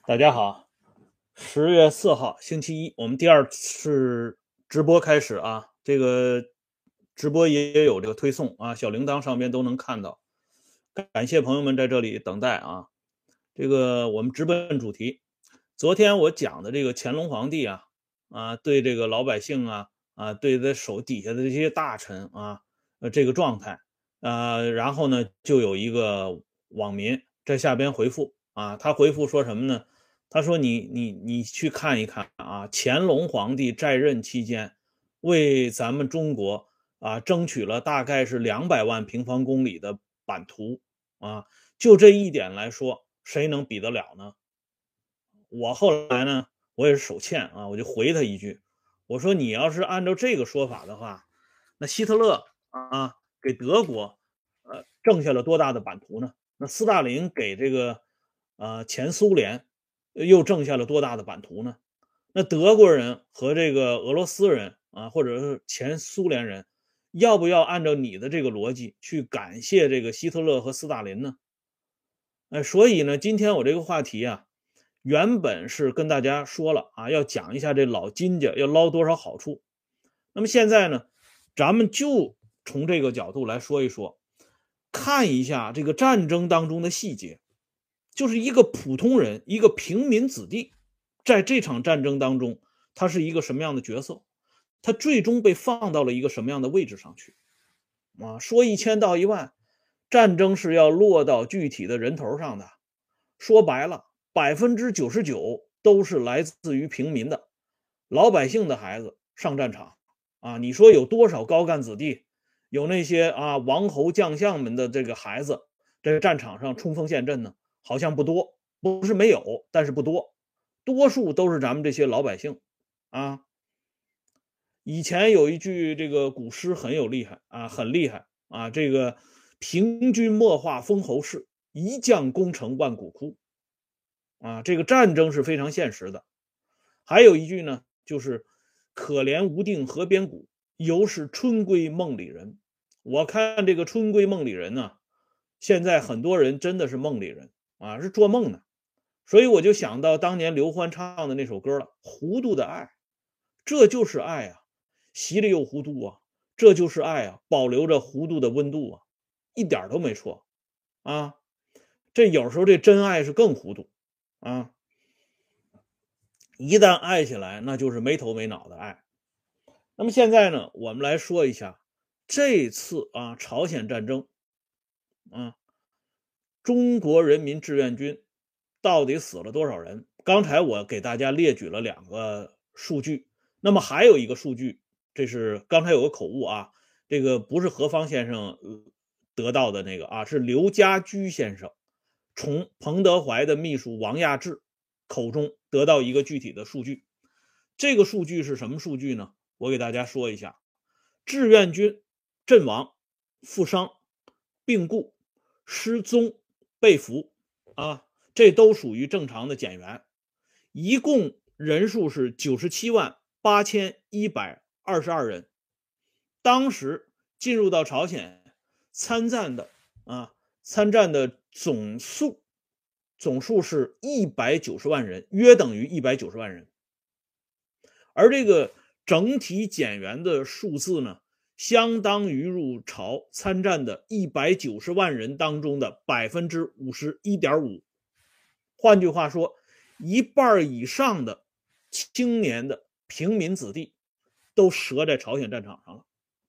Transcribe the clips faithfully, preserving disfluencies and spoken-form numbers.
大家好，十月四号星期一，我们第二次直播开始啊。这个直播也有这个推送啊，小铃铛上边都能看到。感谢朋友们在这里等待啊。这个我们直奔主题。昨天我讲的这个乾隆皇帝啊啊，对这个老百姓啊啊，对他手底下的这些大臣啊，呃，这个状态啊，然后呢，就有一个网民在下边回复啊，他回复说什么呢？他说你你你去看一看啊，乾隆皇帝在任期间，为咱们中国啊争取了大概是两百万平方公里的版图啊，就这一点来说，谁能比得了呢？我后来呢，我也是手欠啊，我就回他一句，我说你要是按照这个说法的话，那希特勒啊给德国呃挣下了多大的版图呢？那斯大林给这个呃前苏联呃又挣下了多大的版图呢？那德国人和这个俄罗斯人啊，或者是前苏联人，要不要按照你的这个逻辑去感谢这个希特勒和斯大林呢？呃，所以呢，今天我这个话题啊，原本是跟大家说了啊，要讲一下这老金家要捞多少好处。那么现在呢，咱们就从这个角度来说一说，看一下这个战争当中的细节，就是一个普通人，一个平民子弟，在这场战争当中，他是一个什么样的角色？他最终被放到了一个什么样的位置上去？啊，说一千道一万，战争是要落到具体的人头上的。说白了，百分之九十九都是来自于平民的老百姓的孩子上战场啊！你说有多少高干子弟，有那些啊王侯将相们的这个孩子在战场上冲锋陷阵呢？好像不多，不是没有，但是不多，多数都是咱们这些老百姓啊。以前有一句这个古诗很有厉害啊，很厉害啊，这个平君莫话封侯事，一将功成万骨枯啊，这个战争是非常现实的。还有一句呢，就是可怜无定河边骨，犹是春闺梦里人。我看这个春闺梦里人呢，现在很多人真的是梦里人啊，是做梦呢。所以我就想到当年刘欢唱的那首歌了，《糊涂的爱》，这就是爱啊，稀里又糊涂啊，这就是爱啊，保留着糊涂的温度啊，一点都没错啊。这有时候这真爱是更糊涂啊，一旦爱起来，那就是没头没脑的爱。那么现在呢，我们来说一下这次啊朝鲜战争啊，中国人民志愿军到底死了多少人？刚才我给大家列举了两个数据，那么还有一个数据，这是刚才有个口误啊，这个不是何方先生得到的那个啊，是刘家驹先生从彭德怀的秘书王亚志口中得到一个具体的数据。这个数据是什么数据呢？我给大家说一下，志愿军阵亡、负伤、病故、失踪、被俘啊，这都属于正常的减员。一共人数是九十七万八千一百二十二人。当时进入到朝鲜参战的啊，参战的总数总数是一百九十万人，约等于一百九十万人。而这个整体减员的数字呢，相当于入朝参战的一百九十万人当中的 百分之五十一点五。 换句话说，一半以上的青年的平民子弟都折在朝鲜战场上了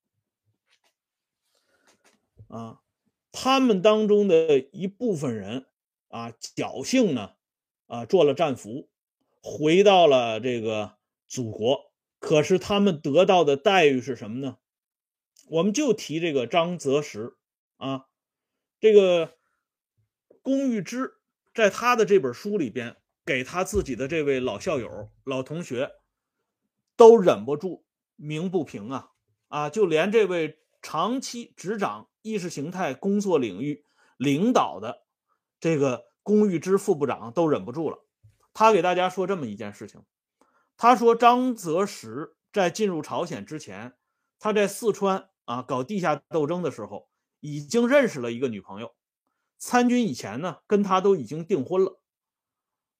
啊。他们当中的一部分人啊，侥幸呢啊做了战俘，回到了这个祖国。可是他们得到的待遇是什么呢？我们就提这个张择时啊，这个龚玉芝在他的这本书里边，给他自己的这位老校友、老同学都忍不住鸣不平啊啊！就连这位长期执掌意识形态工作领域领导的这个龚玉芝副部长都忍不住了。他给大家说这么一件事情，他说张择时在进入朝鲜之前，他在四川啊搞地下斗争的时候，已经认识了一个女朋友。参军以前呢，跟他都已经订婚了。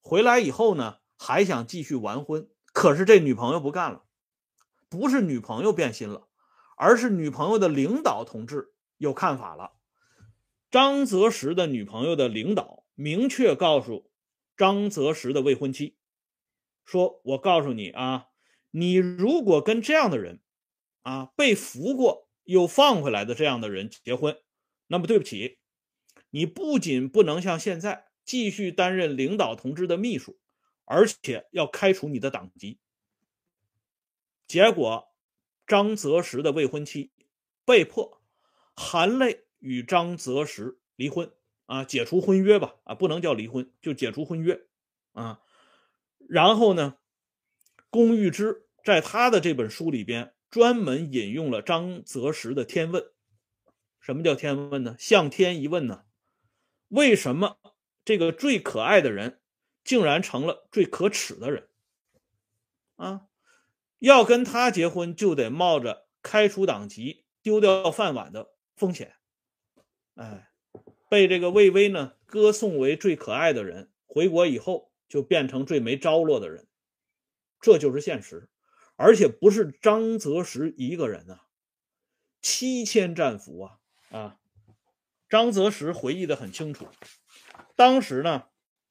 回来以后呢，还想继续完婚，可是这女朋友不干了，不是女朋友变心了，而是女朋友的领导同志有看法了。张择时的女朋友的领导明确告诉张择时的未婚妻说，我告诉你啊，你如果跟这样的人啊，被俘过又放回来的这样的人结婚，那么对不起，你不仅不能像现在继续担任领导同志的秘书，而且要开除你的党籍。结果张择时的未婚妻被迫含泪与张择时离婚啊，解除婚约吧，啊，不能叫离婚，就解除婚约啊。然后呢，龚玉芝在他的这本书里边专门引用了张择时的天问。什么叫天问呢？向天一问呢，为什么这个最可爱的人竟然成了最可耻的人啊？要跟他结婚就得冒着开除党籍丢掉饭碗的风险。哎，被这个魏巍呢歌颂为最可爱的人，回国以后就变成最没着落的人，这就是现实。而且不是张择时一个人啊，七千战俘啊啊！张择时回忆的很清楚，当时呢，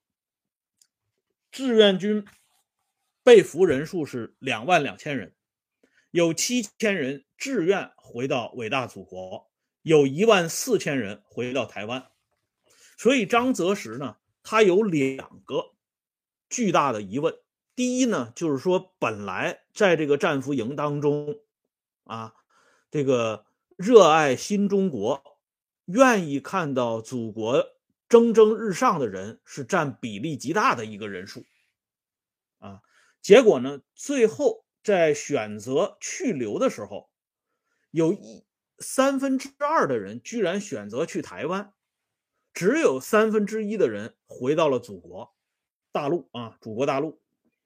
志愿军被俘人数是两万两千人，有七千人志愿回到伟大祖国，有一万四千人回到台湾。所以张择时呢，他有两个巨大的疑问。第一呢，就是说本来在这个战俘营当中啊，这个热爱新中国，愿意看到祖国蒸蒸日上的人是占比例极大的一个人数啊。结果呢，最后在选择去留的时候，有一三分之二的人居然选择去台湾，只有三分之一的人回到了祖国大陆啊，祖国大陆。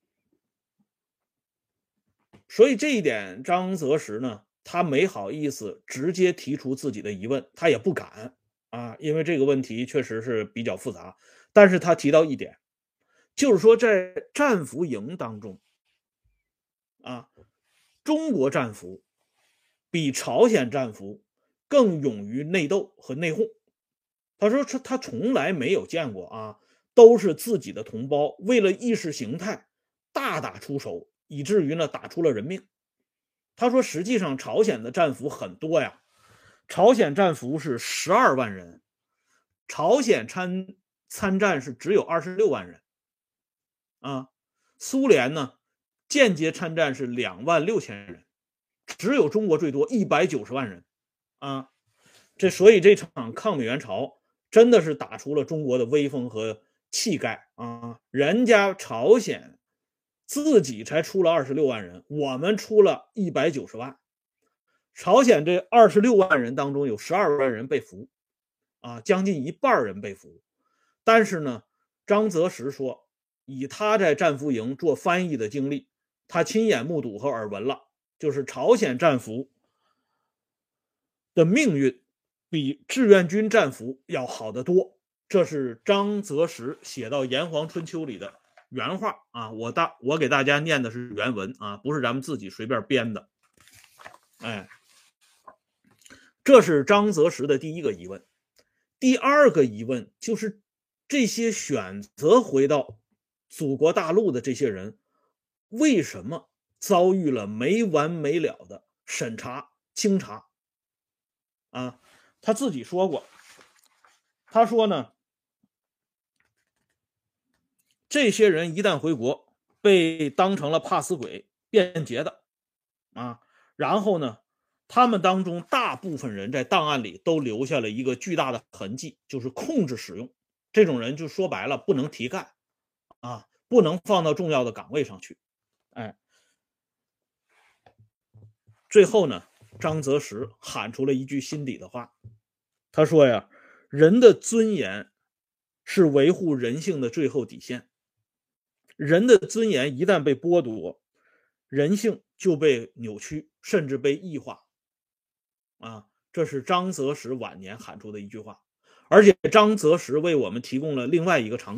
所以这一点，张择时呢，他没好意思直接提出自己的疑问，他也不敢啊，因为这个问题确实是比较复杂。但是他提到一点，就是说在战俘营当中啊，中国战俘比朝鲜战俘更勇于内斗和内讧。他说他从来没有见过啊，都是自己的同胞为了意识形态大打出手，以至于呢打出了人命。他说实际上朝鲜的战俘很多呀，朝鲜战俘是十二万人，朝鲜参参战是只有二十六万人啊。苏联呢间接参战是两万六千人，只有中国最多一百九十万人啊。这所以这场抗美援朝真的是打出了中国的威风和气概啊！人家朝鲜自己才出了二十六万人，我们出了一百九十万。朝鲜这二十六万人当中有十二万人被俘啊，将近一半人被俘。但是呢，张择时说，以他在战俘营做翻译的经历，他亲眼目睹和耳闻了，就是朝鲜战俘的命运比志愿军战俘要好得多。这是张择时写到《炎黄春秋》里的原话啊，我大我给大家念的是原文啊，不是咱们自己随便编的。哎，这是张择时的第一个疑问。第二个疑问就是这些选择回到祖国大陆的这些人，为什么遭遇了没完没了的审查清查啊？他自己说过，他说呢，这些人一旦回国，被当成了怕死鬼变节的啊，然后呢，他们当中大部分人在档案里都留下了一个巨大的痕迹，就是控制使用。这种人就说白了，不能提干啊，不能放到重要的岗位上去。哎，最后呢，张择时喊出了一句心底的话，他说呀，人的尊严是维护人性的最后底线，人的尊严一旦被剥夺，人性就被扭曲，甚至被异化啊，这是张择时晚年喊出的一句话。而且张择时为我们提供了另外一个场景，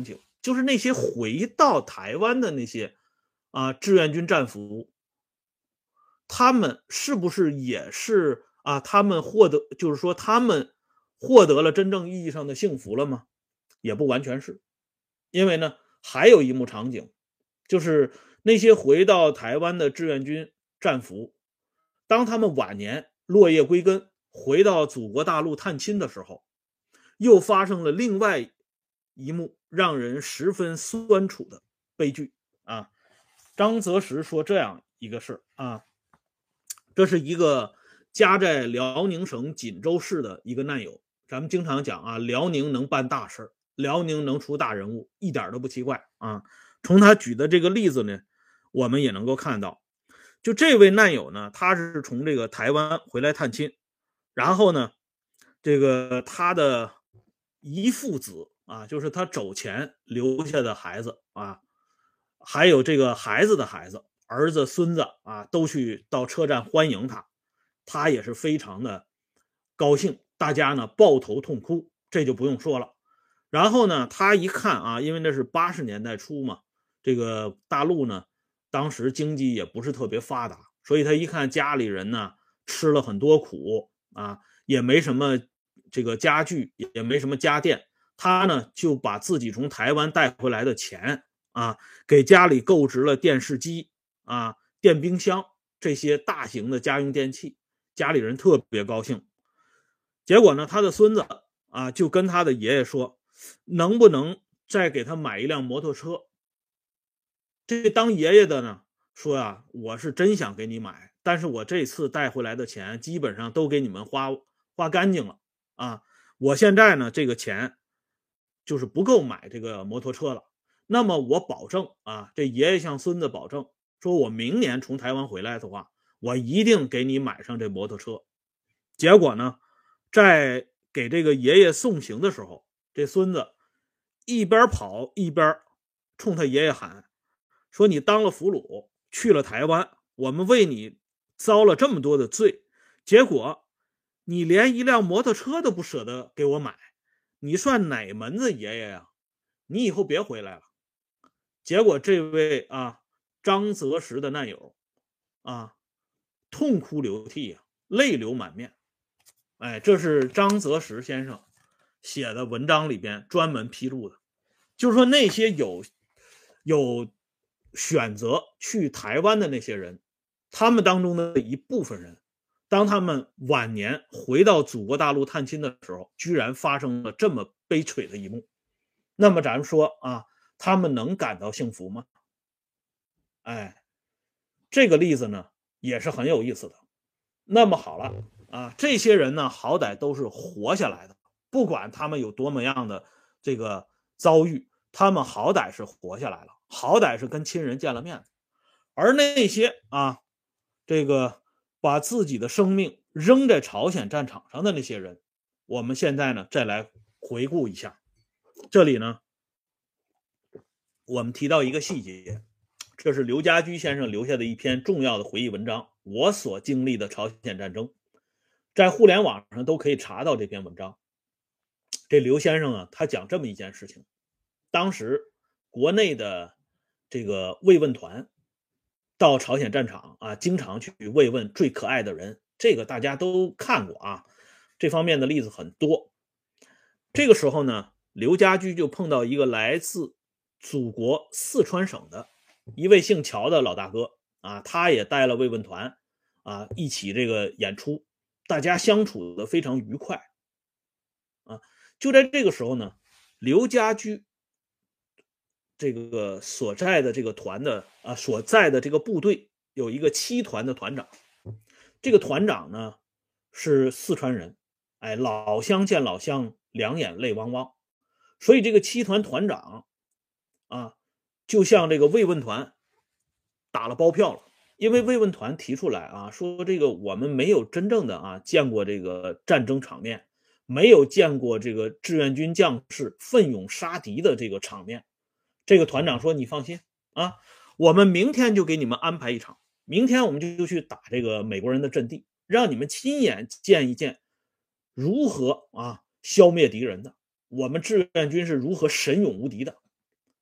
就是那些回到台湾的那些啊志愿军战俘，他们是不是也是啊？他们获得就是说他们获得了真正意义上的幸福了吗？也不完全是，因为呢，还有一幕场景，就是那些回到台湾的志愿军战俘，当他们晚年落叶归根，回到祖国大陆探亲的时候，又发生了另外一幕让人十分酸楚的悲剧啊。张择时说这样一个事啊，这是一个家在辽宁省锦州市的一个难友。咱们经常讲啊，辽宁能办大事，辽宁能出大人物，一点都不奇怪啊。从他举的这个例子呢，我们也能够看到，就这位难友呢，他是从这个台湾回来探亲，然后呢，这个他的遗父子啊，就是他走前留下的孩子啊，还有这个孩子的孩子、儿子、孙子啊，都去到车站欢迎他，他也是非常的高兴，大家呢抱头痛哭，这就不用说了。然后呢，他一看啊，因为那是八十年代初嘛，这个大陆呢，当时经济也不是特别发达，所以他一看家里人呢吃了很多苦啊，也没什么这个家具，也没什么家电，他呢就把自己从台湾带回来的钱啊，给家里购置了电视机啊、电冰箱这些大型的家用电器，家里人特别高兴。结果呢，他的孙子啊就跟他的爷爷说，能不能再给他买一辆摩托车？这当爷爷的呢说啊，我是真想给你买，但是我这次带回来的钱基本上都给你们花花干净了啊！我现在呢这个钱就是不够买这个摩托车了。那么我保证啊，这爷爷向孙子保证，说我明年从台湾回来的话，我一定给你买上这摩托车。结果呢，在给这个爷爷送行的时候，这孙子一边跑一边冲他爷爷喊，说你当了俘虏去了台湾，我们为你遭了这么多的罪，结果你连一辆摩托车都不舍得给我买，你算哪门子爷爷呀？你以后别回来了。结果这位啊张择时的难友啊痛哭流涕啊，泪流满面。哎，这是张择时先生写的文章里边专门披露的，就是说那些有有选择去台湾的那些人，他们当中的一部分人，当他们晚年回到祖国大陆探亲的时候，居然发生了这么悲催的一幕。那么咱们说啊，他们能感到幸福吗？哎，这个例子呢也是很有意思的。那么好了啊，这些人呢好歹都是活下来的，不管他们有多么样的这个遭遇，他们好歹是活下来了，好歹是跟亲人见了面。而那些啊这个把自己的生命扔在朝鲜战场上的那些人，我们现在呢再来回顾一下。这里呢我们提到一个细节，这是刘家驹先生留下的一篇重要的回忆文章，我所经历的朝鲜战争，在互联网上都可以查到这篇文章。这刘先生啊，他讲这么一件事情，当时国内的这个慰问团到朝鲜战场啊，经常去慰问最可爱的人，这个大家都看过啊，这方面的例子很多。这个时候呢，刘家驹就碰到一个来自祖国四川省的一位姓乔的老大哥啊，他也带了慰问团啊，一起这个演出，大家相处的非常愉快啊。就在这个时候呢，刘家驹这个所在的这个团的啊，所在的这个部队有一个七团的团长，这个团长呢是四川人，哎，老乡见老乡，两眼泪汪汪，所以这个七团团长啊，就向这个慰问团打了包票了。因为慰问团提出来啊，说这个我们没有真正的啊见过这个战争场面，没有见过这个志愿军将士奋勇杀敌的这个场面。这个团长说，你放心啊，我们明天就给你们安排一场，明天我们就去打这个美国人的阵地，让你们亲眼见一见如何啊消灭敌人的，我们志愿军是如何神勇无敌的。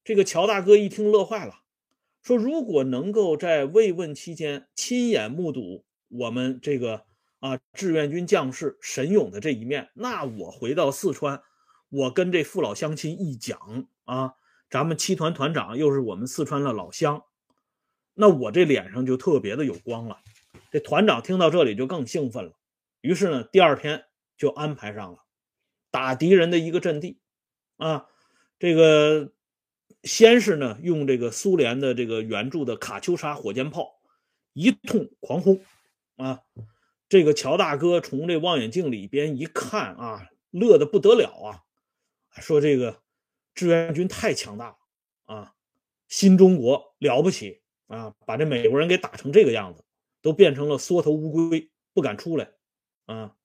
这个乔大哥一听乐坏了，说如果能够在慰问期间亲眼目睹我们这个啊志愿军将士神勇的这一面，那我回到四川，我跟这父老乡亲一讲啊，咱们七团团长又是我们四川的老乡，那我这脸上就特别的有光了。这团长听到这里就更兴奋了，于是呢，第二天就安排上了打敌人的一个阵地啊，这个先是呢用这个苏联的这个援助的卡秋莎火箭炮一通狂轰啊，这个乔大哥从这望远镜里边一看啊，乐得不得了啊，说这个志愿军太强大了啊，新中国了不起啊，把这美国人给打成这个样子，都变成了缩头乌龟，不敢出来啊。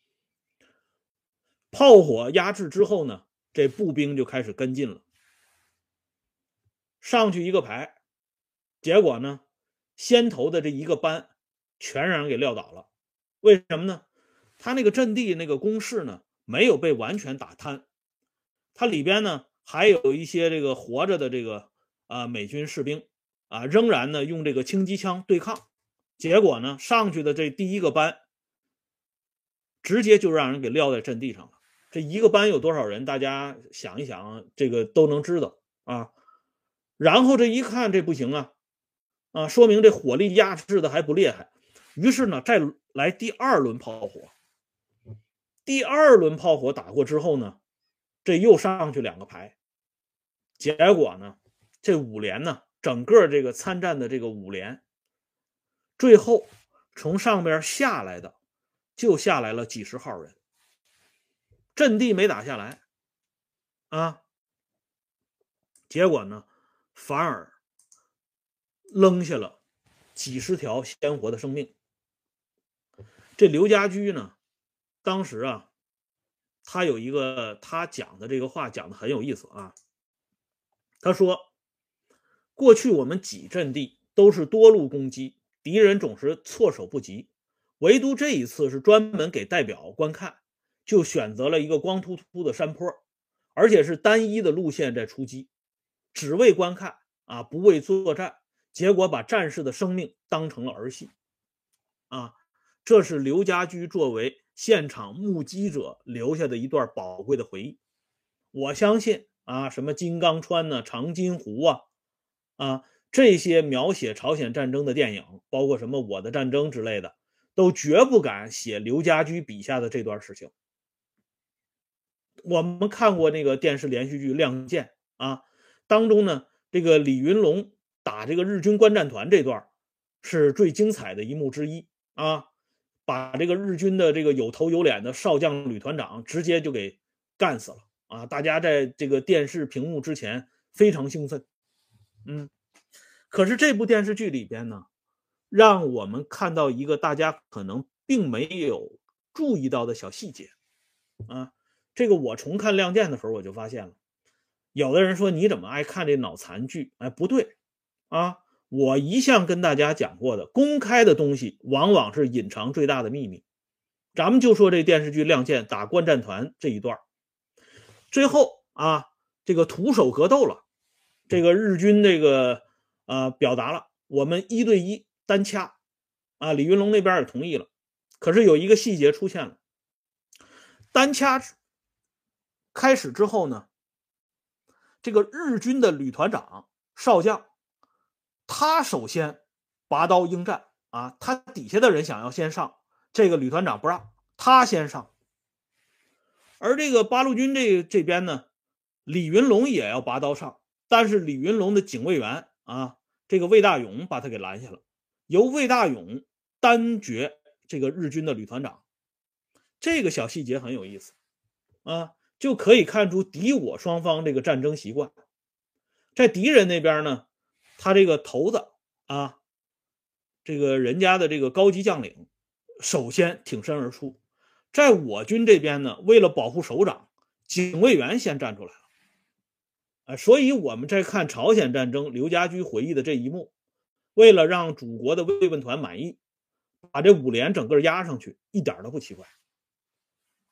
炮火压制之后呢，这步兵就开始跟进了，上去一个排，结果呢，先头的这一个班全让人给撂倒了。为什么呢？他那个阵地那个工事呢，没有被完全打瘫，它里边呢还有一些这个活着的这个啊、呃、美军士兵啊，仍然呢用这个轻机枪对抗。结果呢，上去的这第一个班直接就让人给撂在阵地上了。这一个班有多少人？大家想一想，这个都能知道啊。然后这一看，这不行啊，啊，说明这火力压制的还不厉害。于是呢，再来第二轮炮火。第二轮炮火打过之后呢，这又上去两个排。结果呢，这五连呢，整个这个参战的这个五连，最后从上边下来的就下来了几十号人，阵地没打下来啊，结果呢，反而扔下了几十条鲜活的生命。这刘家驹呢，当时啊，他有一个他讲的这个话讲的很有意思啊。他说，过去我们几阵地都是多路攻击，敌人总是措手不及，唯独这一次是专门给代表观看，就选择了一个光秃秃的山坡，而且是单一的路线在出击，只为观看啊，不为作战，结果把战士的生命当成了儿戏啊。这是刘家驹作为现场目击者留下的一段宝贵的回忆。我相信啊，什么金刚川呢、长津湖啊，啊，这些描写朝鲜战争的电影，包括什么我的战争之类的，都绝不敢写刘家驹笔下的这段事情。我们看过那个电视连续剧《亮剑》啊，当中呢，这个李云龙打这个日军观战团这段是最精彩的一幕之一啊，把这个日军的这个有头有脸的少将旅团长直接就给干死了啊！大家在这个电视屏幕之前非常兴奋，嗯。可是这部电视剧里边呢，让我们看到一个大家可能并没有注意到的小细节啊。这个我重看《亮剑》的时候我就发现了，有的人说你怎么爱看这脑残剧？哎，不对啊，我一向跟大家讲过的，公开的东西往往是隐藏最大的秘密。咱们就说这电视剧《亮剑》打观战团这一段，最后啊，这个徒手格斗了，这个日军这个呃表达了我们一对一单掐啊，李云龙那边也同意了。可是有一个细节出现了，单掐开始之后呢，这个日军的旅团长少将，他首先拔刀应战啊，他底下的人想要先上，这个旅团长不让，他先上。而这个八路军这这边呢，李云龙也要拔刀上，但是李云龙的警卫员啊，这个魏大勇把他给拦下了，由魏大勇单决这个日军的旅团长。这个小细节很有意思啊，就可以看出敌我双方这个战争习惯。在敌人那边呢，他这个头子啊，这个人家的这个高级将领首先挺身而出。在我军这边呢，为了保护首长，警卫员先站出来了。啊，所以我们在看朝鲜战争刘家驹回忆的这一幕，为了让祖国的慰问团满意，把这五连整个压上去，一点都不奇怪。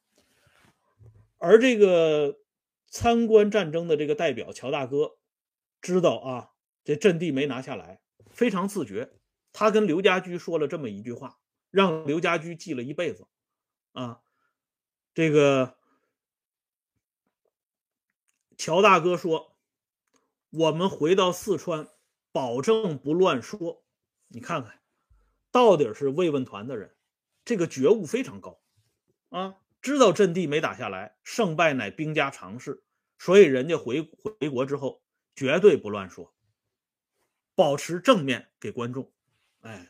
而这个参观战争的这个代表乔大哥知道啊，这阵地没拿下来，非常自觉。他跟刘家驹说了这么一句话，让刘家驹记了一辈子啊。这个乔大哥说：“我们回到四川，保证不乱说。”你看看，到底是慰问团的人，这个觉悟非常高啊，知道阵地没打下来，胜败乃兵家常事，所以人家回回国之后绝对不乱说，保持正面给观众。哎，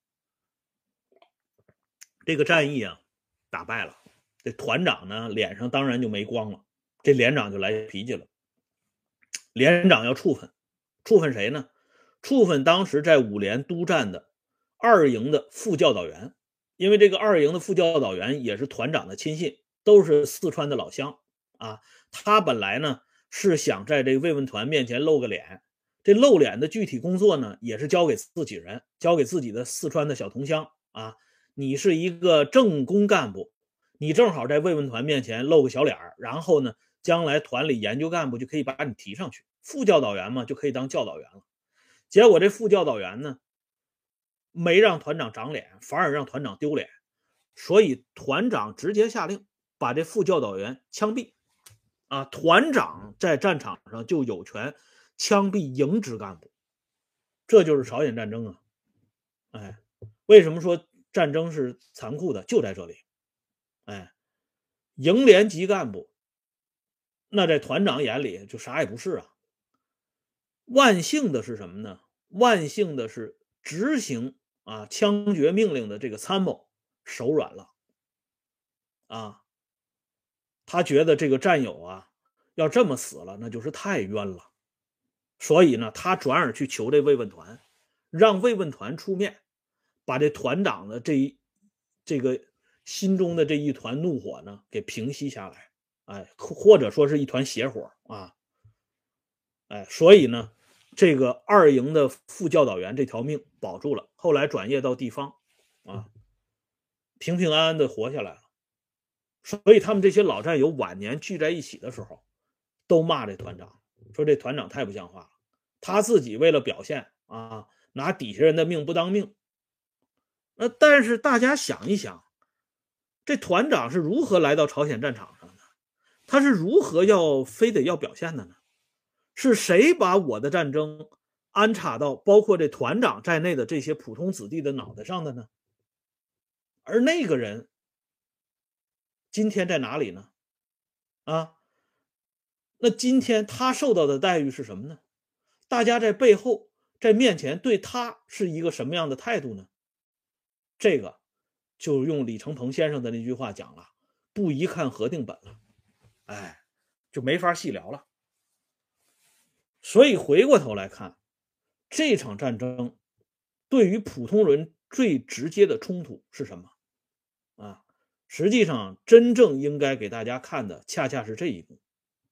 这个战役啊打败了，这团长呢脸上当然就没光了，这连长就来脾气了。连长要处分，处分谁呢？处分当时在五连督战的二营的副教导员，因为这个二营的副教导员也是团长的亲信，都是四川的老乡啊。他本来呢是想在这个慰问团面前露个脸，这露脸的具体工作呢也是交给自己人，交给自己的四川的小同乡啊。你是一个正工干部，你正好在慰问团面前露个小脸，然后呢将来团里研究干部就可以把你提上去，副教导员嘛就可以当教导员了。结果这副教导员呢没让团长长脸，反而让团长丢脸，所以团长直接下令把这副教导员枪毙啊！团长在战场上就有权枪毙营职干部，这就是朝鲜战争啊！哎，为什么说战争是残酷的？就在这里，哎，营连级干部，那在团长眼里就啥也不是啊。万幸的是什么呢？万幸的是执行啊枪决命令的这个参谋手软了啊，他觉得这个战友啊要这么死了，那就是太冤了，所以呢，他转而去求这慰问团，让慰问团出面，把这团长的这一这个心中的这一团怒火呢给平息下来，哎，或者说是一团邪火啊，哎，所以呢。这个二营的副教导员这条命保住了，后来转业到地方啊，平平安安的活下来了。所以他们这些老战友晚年聚在一起的时候，都骂这团长，说这团长太不像话了。他自己为了表现啊，拿底下人的命不当命。那但是大家想一想，这团长是如何来到朝鲜战场上的？他是如何要非得要表现的呢？是谁把我的战争安插到包括这团长在内的这些普通子弟的脑袋上的呢？而那个人今天在哪里呢？啊，那今天他受到的待遇是什么呢？大家在背后在面前对他是一个什么样的态度呢？这个就用李承鹏先生的那句话讲了，不一看核定本了，哎，就没法细聊了。所以回过头来看，这场战争对于普通人最直接的冲突是什么啊？实际上真正应该给大家看的恰恰是这一幕。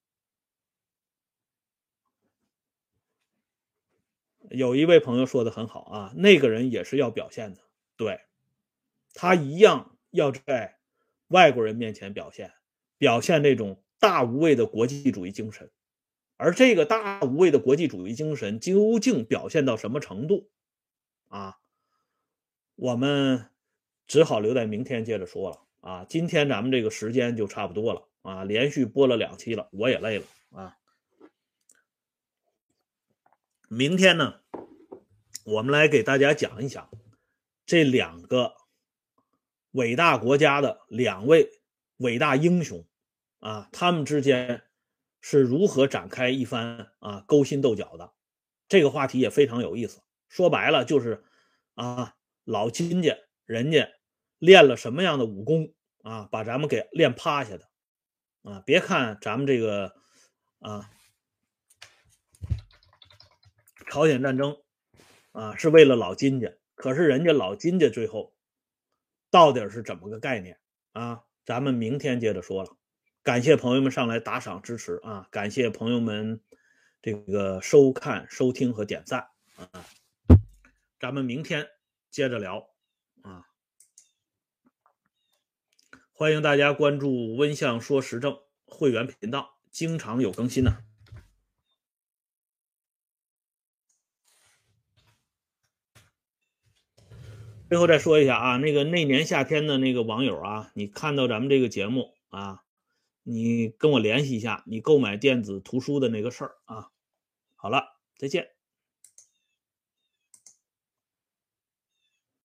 有一位朋友说的很好啊，那个人也是要表现的，对，他一样要在外国人面前表现，表现这种大无畏的国际主义精神。而这个大无畏的国际主义精神究竟表现到什么程度啊？我们只好留在明天接着说了啊。今天咱们这个时间就差不多了啊，连续播了两期了，我也累了啊。明天呢，我们来给大家讲一讲这两个伟大国家的两位伟大英雄啊，他们之间是如何展开一番啊勾心斗角的。这个话题也非常有意思，说白了就是啊老金家人家练了什么样的武功啊，把咱们给练趴下的啊。别看咱们这个啊朝鲜战争啊是为了老金家，可是人家老金家最后到底是怎么个概念啊？咱们明天接着说了。感谢朋友们上来打赏支持啊！感谢朋友们这个收看、收听和点赞啊！咱们明天接着聊啊！欢迎大家关注温相说时政会员频道，经常有更新呢、啊。 最后再说一下啊，那个那年夏天的那个网友啊，你看到咱们这个节目啊，你跟我联系一下你购买电子图书的那个事儿啊。好了，再见。